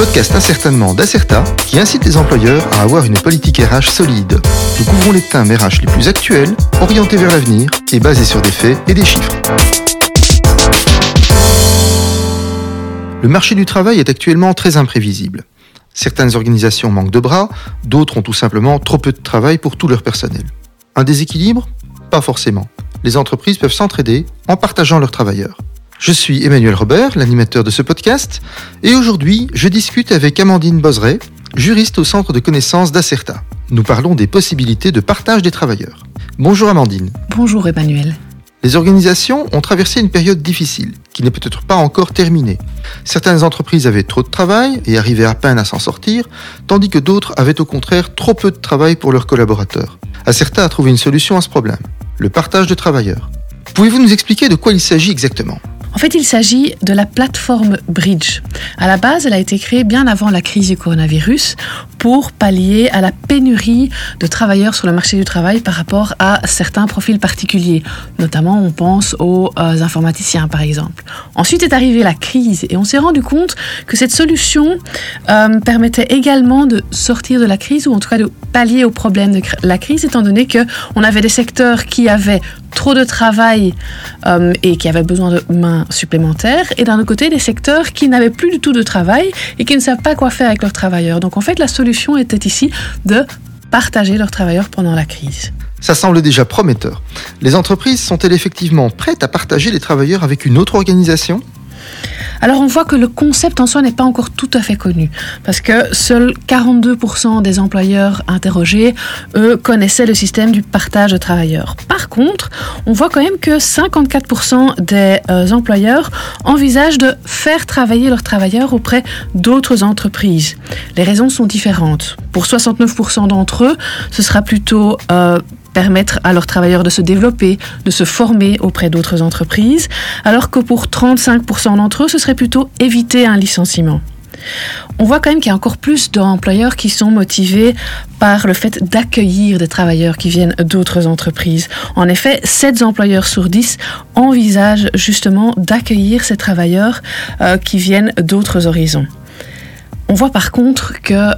podcast Incertainement d'Acerta qui incite les employeurs à avoir une politique RH solide. Nous couvrons les thèmes RH les plus actuels, orientés vers l'avenir et basés sur des faits et des chiffres. Le marché du travail est actuellement très imprévisible. Certaines organisations manquent de bras, d'autres ont tout simplement trop peu de travail pour tout leur personnel. Un déséquilibre ? Pas forcément. Les entreprises peuvent s'entraider en partageant leurs travailleurs. Je suis Emmanuel Robert, l'animateur de ce podcast, et aujourd'hui, je discute avec Amandine Bozeret, juriste au centre de connaissances d'Acerta. Nous parlons des possibilités de partage des travailleurs. Bonjour Amandine. Bonjour Emmanuel. Les organisations ont traversé une période difficile, qui n'est peut-être pas encore terminée. Certaines entreprises avaient trop de travail et arrivaient à peine à s'en sortir, tandis que d'autres avaient au contraire trop peu de travail pour leurs collaborateurs. Acerta a trouvé une solution à ce problème, le partage de travailleurs. Pouvez-vous nous expliquer de quoi il s'agit exactement ? En fait, il s'agit de la plateforme Bridge. À la base, elle a été créée bien avant la crise du coronavirus pour pallier à la pénurie de travailleurs sur le marché du travail par rapport à certains profils particuliers. Notamment, on pense aux informaticiens, par exemple. Ensuite est arrivée la crise et on s'est rendu compte que cette solution permettait également de sortir de la crise ou en tout cas de pallier aux problèmes de la crise, étant donné qu'on avait des secteurs qui avaient trop de travail et qui avaient besoin de mains supplémentaires, et d'un autre côté des secteurs qui n'avaient plus du tout de travail et qui ne savent pas quoi faire avec leurs travailleurs. Donc en fait la solution était ici de partager leurs travailleurs pendant la crise. Ça semble déjà prometteur. Les entreprises sont-elles effectivement prêtes à partager les travailleurs avec une autre organisation ? Alors on voit que le concept en soi n'est pas encore tout à fait connu, parce que seuls 42% des employeurs interrogés, eux, connaissaient le système du partage de travailleurs. Par contre, on voit quand même que 54% des employeurs envisagent de faire travailler leurs travailleurs auprès d'autres entreprises. Les raisons sont différentes. Pour 69% d'entre eux, ce sera plutôt permettre à leurs travailleurs de se développer, de se former auprès d'autres entreprises, alors que pour 35% d'entre eux, ce serait plutôt éviter un licenciement. On voit quand même qu'il y a encore plus d'employeurs qui sont motivés par le fait d'accueillir des travailleurs qui viennent d'autres entreprises. En effet, 7 employeurs sur 10 envisagent justement d'accueillir ces travailleurs qui viennent d'autres horizons. On voit par contre que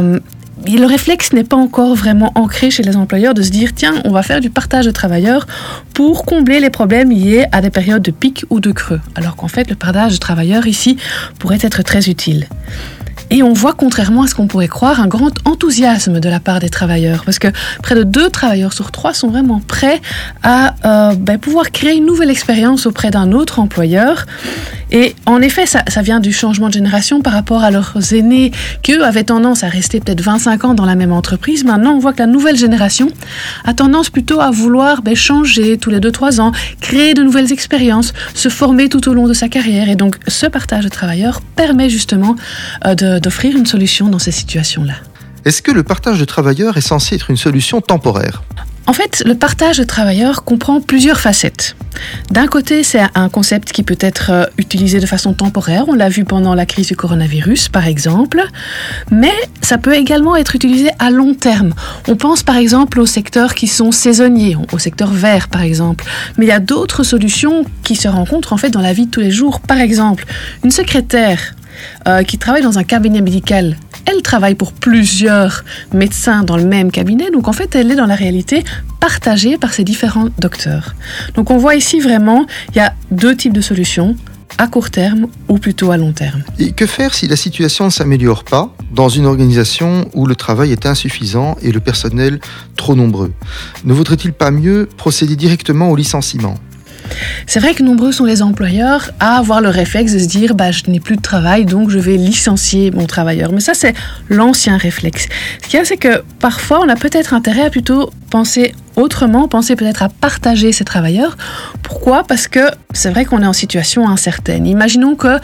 le réflexe n'est pas encore vraiment ancré chez les employeurs de se dire « Tiens, on va faire du partage de travailleurs pour combler les problèmes liés à des périodes de pic ou de creux. » Alors qu'en fait, le partage de travailleurs ici pourrait être très utile. Et on voit, contrairement à ce qu'on pourrait croire, un grand enthousiasme de la part des travailleurs, parce que près de 2 travailleurs sur 3 sont vraiment prêts à pouvoir créer une nouvelle expérience auprès d'un autre employeur. Et en effet, ça vient du changement de génération par rapport à leurs aînés qui, eux, avaient tendance à rester peut-être 25 ans dans la même entreprise. Maintenant, on voit que la nouvelle génération a tendance plutôt à vouloir changer tous les 2-3 ans, créer de nouvelles expériences, se former tout au long de sa carrière. Et donc, ce partage de travailleurs permet justement d'offrir une solution dans ces situations-là. Est-ce que le partage de travailleurs est censé être une solution temporaire ? En fait, le partage de travailleurs comprend plusieurs facettes. D'un côté, c'est un concept qui peut être utilisé de façon temporaire. On l'a vu pendant la crise du coronavirus, par exemple. Mais ça peut également être utilisé à long terme. On pense par exemple aux secteurs qui sont saisonniers, au secteur vert, par exemple. Mais il y a d'autres solutions qui se rencontrent en fait dans la vie de tous les jours. Par exemple, une secrétaire qui travaille dans un cabinet médical, elle travaille pour plusieurs médecins dans le même cabinet, donc en fait elle est dans la réalité partagée par ces différents docteurs. Donc on voit ici vraiment, il y a 2 types de solutions, à court terme ou plutôt à long terme. Et que faire si la situation ne s'améliore pas dans une organisation où le travail est insuffisant et le personnel trop nombreux ? Ne vaudrait-il pas mieux procéder directement au licenciement ? C'est vrai que nombreux sont les employeurs à avoir le réflexe de se dire je n'ai plus de travail, donc je vais licencier mon travailleur. Mais ça, c'est l'ancien réflexe. Ce qu'il y a, c'est que parfois, on a peut-être intérêt à plutôt penser autrement, penser peut-être à partager ces travailleurs. Pourquoi ? Parce que c'est vrai qu'on est en situation incertaine. Imaginons que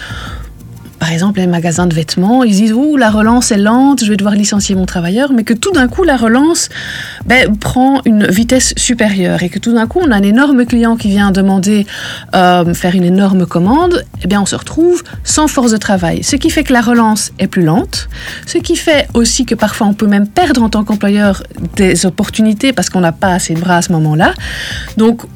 par exemple, les magasins de vêtements, ils disent « Ouh, la relance est lente, je vais devoir licencier mon travailleur », mais que tout d'un coup, la relance prend une vitesse supérieure et que tout d'un coup, on a un énorme client qui vient demander faire une énorme commande, on se retrouve sans force de travail. Ce qui fait que la relance est plus lente, ce qui fait aussi que parfois, on peut même perdre en tant qu'employeur des opportunités parce qu'on n'a pas assez de bras à ce moment-là. Donc,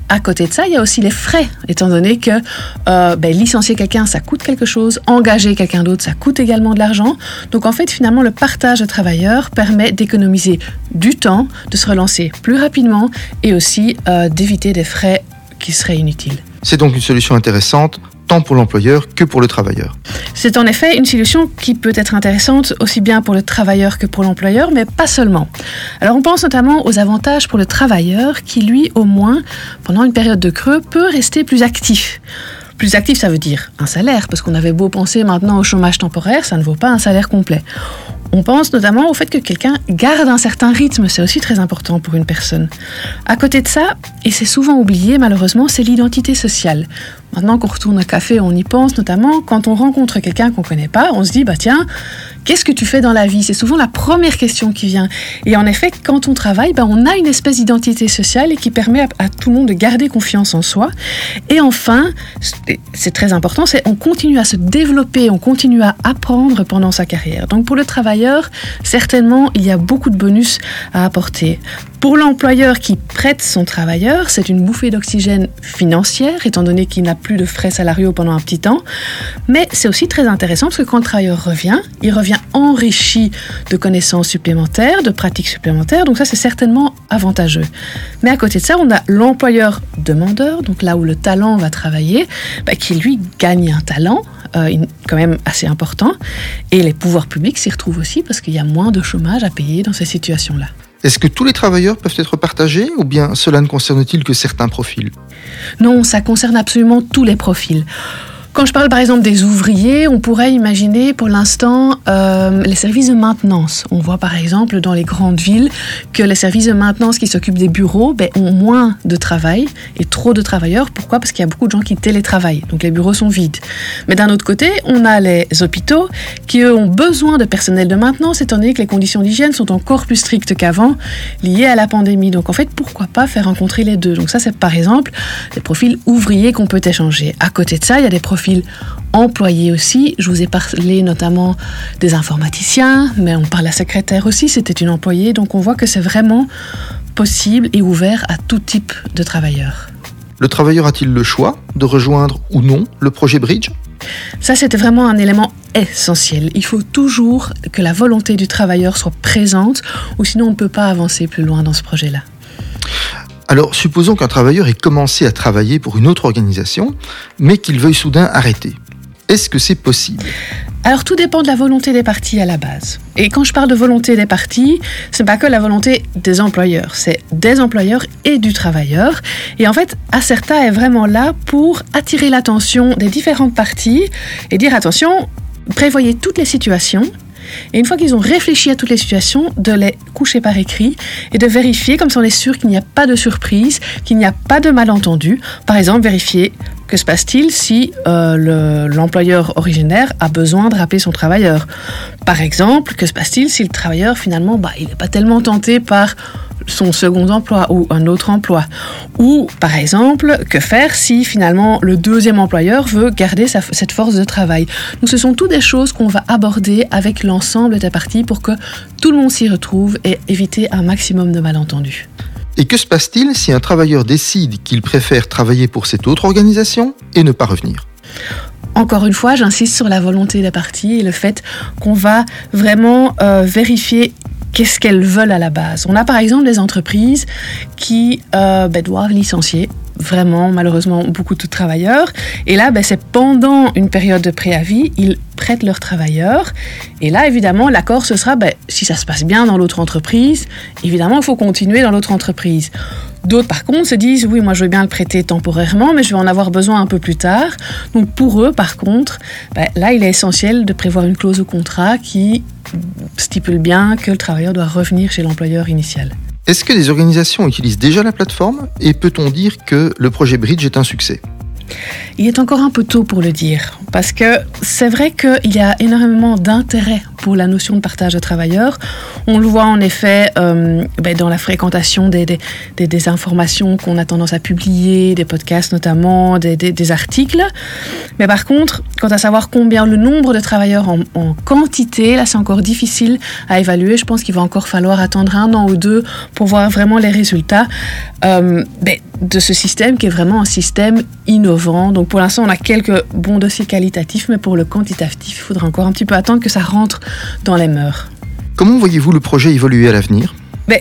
À côté de ça, il y a aussi les frais, étant donné que licencier quelqu'un, ça coûte quelque chose, engager quelqu'un d'autre, ça coûte également de l'argent. Donc en fait, finalement, le partage de travailleurs permet d'économiser du temps, de se relancer plus rapidement et aussi d'éviter des frais qui seraient inutiles. C'est donc une solution intéressante, tant pour l'employeur que pour le travailleur. C'est en effet une solution qui peut être intéressante aussi bien pour le travailleur que pour l'employeur, mais pas seulement. Alors on pense notamment aux avantages pour le travailleur qui, lui, au moins, pendant une période de creux, peut rester plus actif. Plus actif, ça veut dire un salaire, parce qu'on avait beau penser maintenant au chômage temporaire, ça ne vaut pas un salaire complet. On pense notamment au fait que quelqu'un garde un certain rythme, c'est aussi très important pour une personne. À côté de ça, et c'est souvent oublié malheureusement, c'est l'identité sociale. Maintenant qu'on retourne au café, on y pense notamment quand on rencontre quelqu'un qu'on ne connaît pas, on se dit tiens, qu'est-ce que tu fais dans la vie ? C'est souvent la première question qui vient. Et en effet, quand on travaille, on a une espèce d'identité sociale et qui permet à tout le monde de garder confiance en soi. Et enfin, c'est très important, on continue à se développer, on continue à apprendre pendant sa carrière. Donc pour le travailleur, certainement, il y a beaucoup de bonus à apporter. Pour l'employeur qui prête son travailleur, c'est une bouffée d'oxygène financière, étant donné qu'il n'a plus de frais salariaux pendant un petit temps. Mais c'est aussi très intéressant parce que quand le travailleur revient, il revient enrichi de connaissances supplémentaires, de pratiques supplémentaires. Donc ça, c'est certainement avantageux. Mais à côté de ça, on a l'employeur demandeur, donc là où le talent va travailler, qui lui gagne un talent quand même assez important. Et les pouvoirs publics s'y retrouvent aussi parce qu'il y a moins de chômage à payer dans ces situations-là. Est-ce que tous les travailleurs peuvent être partagés ou bien cela ne concerne-t-il que certains profils ? Non, ça concerne absolument tous les profils. Quand je parle par exemple des ouvriers, on pourrait imaginer pour l'instant les services de maintenance. On voit par exemple dans les grandes villes que les services de maintenance qui s'occupent des bureaux ont moins de travail et trop de travailleurs. Pourquoi ? Parce qu'il y a beaucoup de gens qui télétravaillent, donc les bureaux sont vides. Mais d'un autre côté, on a les hôpitaux qui eux ont besoin de personnel de maintenance étant donné que les conditions d'hygiène sont encore plus strictes qu'avant liées à la pandémie. Donc en fait, pourquoi pas faire rencontrer les deux ? Donc ça, c'est par exemple des profils ouvriers qu'on peut échanger. À côté de ça, il y a des profils employés aussi. Je vous ai parlé notamment des informaticiens, mais on parle de la secrétaire aussi, c'était une employée. Donc on voit que c'est vraiment possible et ouvert à tout type de travailleurs. Le travailleur a-t-il le choix de rejoindre ou non le projet Bridge ? Ça, c'était vraiment un élément essentiel. Il faut toujours que la volonté du travailleur soit présente, ou sinon on ne peut pas avancer plus loin dans ce projet-là. Alors, supposons qu'un travailleur ait commencé à travailler pour une autre organisation, mais qu'il veuille soudain arrêter. Est-ce que c'est possible ? Alors, tout dépend de la volonté des parties à la base. Et quand je parle de volonté des parties, c'est pas que la volonté des employeurs, c'est des employeurs et du travailleur. Et en fait, Acerta est vraiment là pour attirer l'attention des différentes parties et dire attention, prévoyez toutes les situations. Et une fois qu'ils ont réfléchi à toutes les situations, de les coucher par écrit et de vérifier, comme ça on est sûr qu'il n'y a pas de surprise, qu'il n'y a pas de malentendu. Par exemple, vérifier que se passe-t-il si l'employeur originaire a besoin de rappeler son travailleur. Par exemple, que se passe-t-il si le travailleur finalement il n'est pas tellement tenté par son second emploi ou un autre emploi. Ou, par exemple, que faire si finalement le deuxième employeur veut garder cette force de travail. Donc ce sont toutes des choses qu'on va aborder avec l'ensemble des parties pour que tout le monde s'y retrouve et éviter un maximum de malentendus. Et que se passe-t-il si un travailleur décide qu'il préfère travailler pour cette autre organisation et ne pas revenir ? Encore une fois, j'insiste sur la volonté des parties et le fait qu'on va vraiment vérifier qu'est-ce qu'elles veulent à la base. On a par exemple des entreprises qui doivent licencier vraiment malheureusement beaucoup de travailleurs et là c'est pendant une période de préavis, ils prêtent leurs travailleurs et là évidemment l'accord ce sera si ça se passe bien dans l'autre entreprise, évidemment il faut continuer dans l'autre entreprise. D'autres par contre se disent oui moi je veux bien le prêter temporairement mais je vais en avoir besoin un peu plus tard. Donc pour eux par contre là il est essentiel de prévoir une clause au contrat qui stipule bien que le travailleur doit revenir chez l'employeur initial. Est-ce que des organisations utilisent déjà la plateforme et peut-on dire que le projet Bridge est un succès ? Il est encore un peu tôt pour le dire, parce que c'est vrai qu'il y a énormément d'intérêt pour la notion de partage de travailleurs. On le voit en effet dans la fréquentation des informations qu'on a tendance à publier, des podcasts notamment, des articles. Mais par contre, quant à savoir combien le nombre de travailleurs en quantité, là c'est encore difficile à évaluer. Je pense qu'il va encore falloir attendre 1 an ou 2 pour voir vraiment les résultats de ce système qui est vraiment un système innovant. Donc pour l'instant, on a quelques bons dossiers qualitatifs, mais pour le quantitatif, il faudra encore un petit peu attendre que ça rentre dans les mœurs. Comment voyez-vous le projet évoluer à l'avenir ?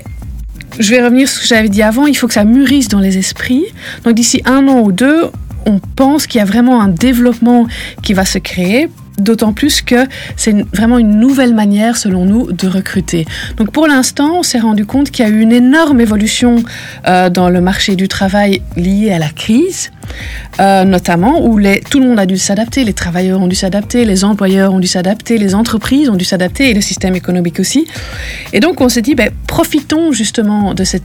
Je vais revenir sur ce que j'avais dit avant, il faut que ça mûrisse dans les esprits. Donc d'ici 1 an ou 2, on pense qu'il y a vraiment un développement qui va se créer. D'autant plus que c'est vraiment une nouvelle manière, selon nous, de recruter. Donc pour l'instant, on s'est rendu compte qu'il y a eu une énorme évolution dans le marché du travail liée à la crise, notamment où tout le monde a dû s'adapter, les travailleurs ont dû s'adapter, les employeurs ont dû s'adapter, les entreprises ont dû s'adapter et le système économique aussi. Et donc on s'est dit, profitons justement de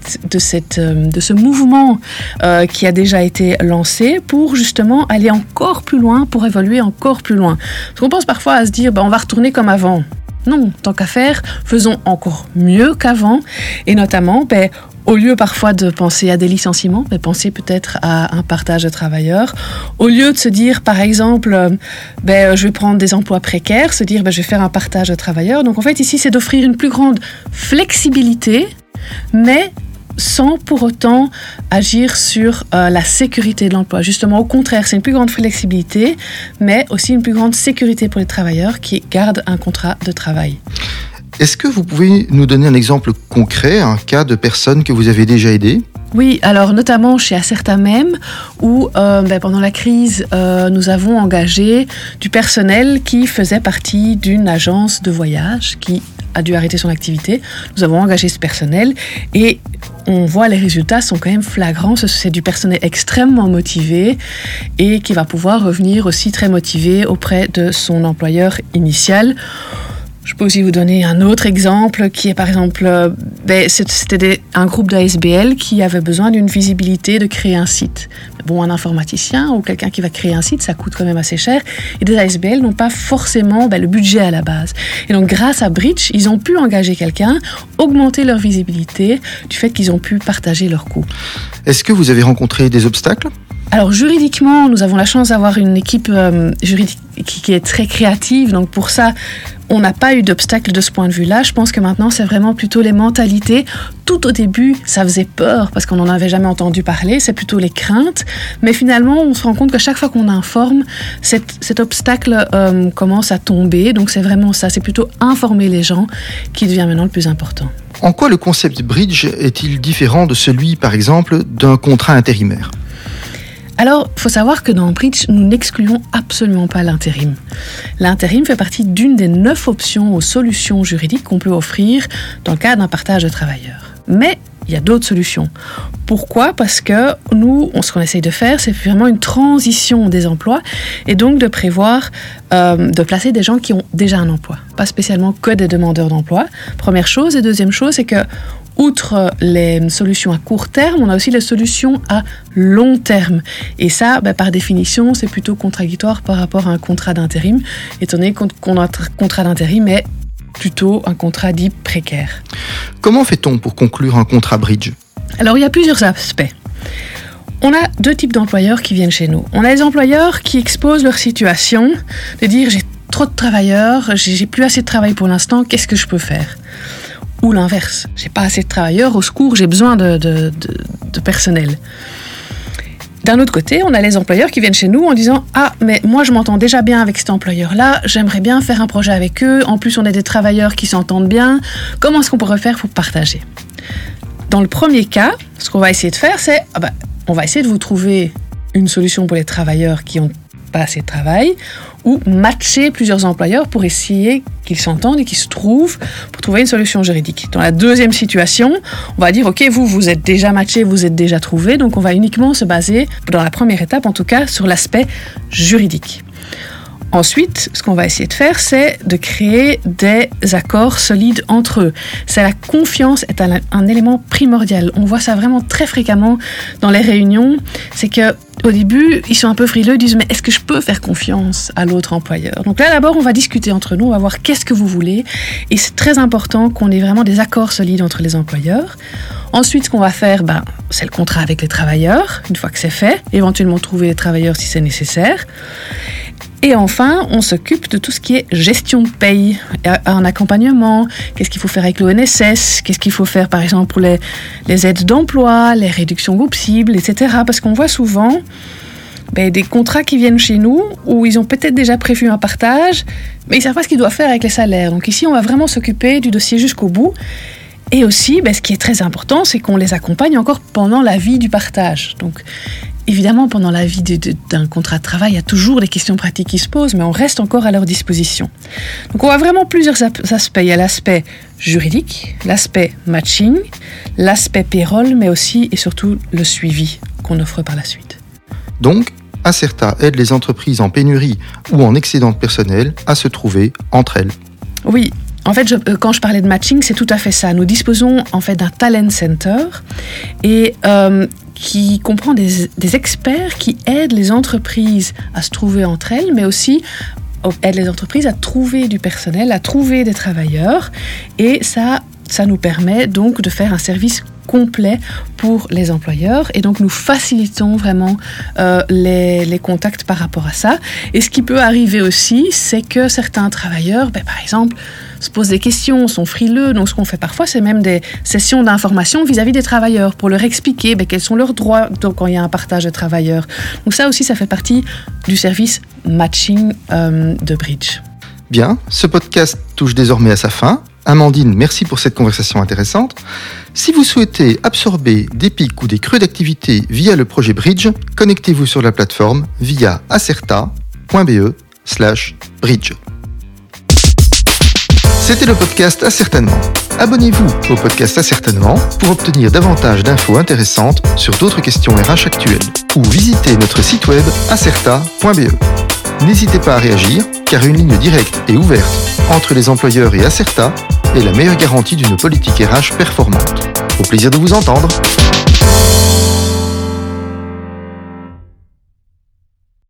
ce mouvement qui a déjà été lancé pour justement aller encore plus loin, pour évoluer encore plus loin. Parce qu'on pense parfois à se dire, on va retourner comme avant. Non, tant qu'à faire, faisons encore mieux qu'avant. Et notamment, au lieu parfois de penser à des licenciements, penser peut-être à un partage de travailleurs. Au lieu de se dire, par exemple, je vais prendre des emplois précaires, se dire, je vais faire un partage de travailleurs. Donc en fait, ici, c'est d'offrir une plus grande flexibilité, mais sans pour autant agir sur la sécurité de l'emploi. Justement, au contraire, c'est une plus grande flexibilité, mais aussi une plus grande sécurité pour les travailleurs qui gardent un contrat de travail. Est-ce que vous pouvez nous donner un exemple concret, un cas de personne que vous avez déjà aidée ? Oui, alors notamment chez Acerta même, où pendant la crise, nous avons engagé du personnel qui faisait partie d'une agence de voyage qui a dû arrêter son activité. Nous avons engagé ce personnel et on voit les résultats sont quand même flagrants. C'est du personnel extrêmement motivé et qui va pouvoir revenir aussi très motivé auprès de son employeur initial. Je peux aussi vous donner un autre exemple qui est par exemple, c'était un groupe d'ASBL qui avait besoin d'une visibilité, de créer un site. Un informaticien ou quelqu'un qui va créer un site, ça coûte quand même assez cher. Et des ASBL n'ont pas forcément le budget à la base. Et donc grâce à Bridge, ils ont pu engager quelqu'un, augmenter leur visibilité du fait qu'ils ont pu partager leurs coûts. Est-ce que vous avez rencontré des obstacles ? Alors juridiquement, nous avons la chance d'avoir une équipe juridique qui est très créative. Donc pour ça, on n'a pas eu d'obstacle de ce point de vue-là. Je pense que maintenant, c'est vraiment plutôt les mentalités. Tout au début, ça faisait peur parce qu'on n'en avait jamais entendu parler. C'est plutôt les craintes. Mais finalement, on se rend compte que chaque fois qu'on informe, cet obstacle commence à tomber. Donc c'est vraiment ça. C'est plutôt informer les gens qui devient maintenant le plus important. En quoi le concept Bridge est-il différent de celui, par exemple, d'un contrat intérimaire ? Alors, il faut savoir que dans Bridge, nous n'excluons absolument pas l'intérim. L'intérim fait partie d'une des 9 options aux solutions juridiques qu'on peut offrir dans le cadre d'un partage de travailleurs. Mais il y a d'autres solutions. Pourquoi ? Parce que nous, ce qu'on essaye de faire, c'est vraiment une transition des emplois et donc de prévoir de placer des gens qui ont déjà un emploi, pas spécialement que des demandeurs d'emploi. Première chose. Et deuxième chose, c'est que outre les solutions à court terme, on a aussi les solutions à long terme. Et ça, par définition, c'est plutôt contradictoire par rapport à un contrat d'intérim, étant donné qu'on a un contrat d'intérim est plutôt un contrat dit précaire. Comment fait-on pour conclure un contrat Bridge ? Alors, il y a plusieurs aspects. On a 2 types d'employeurs qui viennent chez nous. On a les employeurs qui exposent leur situation, de dire j'ai trop de travailleurs, j'ai plus assez de travail pour l'instant, qu'est-ce que je peux faire ? Ou l'inverse, j'ai pas assez de travailleurs, au secours, j'ai besoin de personnel. D'un autre côté, on a les employeurs qui viennent chez nous en disant « Ah, mais moi je m'entends déjà bien avec cet employeur-là, j'aimerais bien faire un projet avec eux, en plus on est des travailleurs qui s'entendent bien, comment est-ce qu'on pourrait faire pour partager ?» Dans le premier cas, ce qu'on va essayer de faire, c'est on va essayer de vous trouver une solution pour les travailleurs qui ont pas assez de travail, ou matcher plusieurs employeurs pour essayer qu'ils s'entendent et qu'ils se trouvent pour trouver une solution juridique. Dans la deuxième situation, on va dire, ok, vous êtes déjà matchés, vous êtes déjà trouvés, donc on va uniquement se baser, dans la première étape en tout cas, sur l'aspect juridique. Ensuite, ce qu'on va essayer de faire, c'est de créer des accords solides entre eux. La confiance est un élément primordial. On voit ça vraiment très fréquemment dans les réunions. C'est que au début, ils sont un peu frileux, ils disent « mais est-ce que je peux faire confiance à l'autre employeur ?» Donc là, d'abord, on va discuter entre nous, on va voir qu'est-ce que vous voulez. Et c'est très important qu'on ait vraiment des accords solides entre les employeurs. Ensuite, ce qu'on va faire, c'est le contrat avec les travailleurs, une fois que c'est fait. Éventuellement, trouver les travailleurs si c'est nécessaire. Et enfin, on s'occupe de tout ce qui est gestion de paye, un accompagnement, qu'est-ce qu'il faut faire avec l'ONSS, qu'est-ce qu'il faut faire par exemple pour les aides d'emploi, les réductions groupes cibles, etc. Parce qu'on voit souvent des contrats qui viennent chez nous où ils ont peut-être déjà prévu un partage, mais ils ne savent pas ce qu'ils doivent faire avec les salaires. Donc ici, on va vraiment s'occuper du dossier jusqu'au bout. Et aussi, ce qui est très important, c'est qu'on les accompagne encore pendant la vie du partage. Donc, évidemment, pendant la vie d'un contrat de travail, il y a toujours des questions pratiques qui se posent, mais on reste encore à leur disposition. Donc, on voit vraiment plusieurs aspects. Il y a l'aspect juridique, l'aspect matching, l'aspect payroll, mais aussi et surtout le suivi qu'on offre par la suite. Donc, Acerta aide les entreprises en pénurie ou en excédent de personnel à se trouver entre elles. Oui. En fait, quand je parlais de matching, c'est tout à fait ça. Nous disposons en fait d'un talent center et qui comprend des experts qui aident les entreprises à se trouver entre elles, mais aussi aident les entreprises à trouver du personnel, à trouver des travailleurs. Et ça nous permet donc de faire un service complet pour les employeurs et donc nous facilitons vraiment les contacts par rapport à ça. Et ce qui peut arriver aussi, c'est que certains travailleurs, par exemple, se posent des questions, sont frileux. Donc ce qu'on fait parfois, c'est même des sessions d'information vis-à-vis des travailleurs pour leur expliquer quels sont leurs droits quand il y a un partage de travailleurs. Donc ça aussi, ça fait partie du service matching de Bridge. Bien, ce podcast touche désormais à sa fin. Amandine, merci pour cette conversation intéressante. Si vous souhaitez absorber des pics ou des creux d'activité via le projet Bridge, connectez-vous sur la plateforme via acerta.be/bridge. C'était le podcast Acertainement. Abonnez-vous au podcast Acertainement pour obtenir davantage d'infos intéressantes sur d'autres questions RH actuelles ou visitez notre site web acerta.be. N'hésitez pas à réagir car une ligne directe et ouverte entre les employeurs et Acerta est la meilleure garantie d'une politique RH performante. Au plaisir de vous entendre.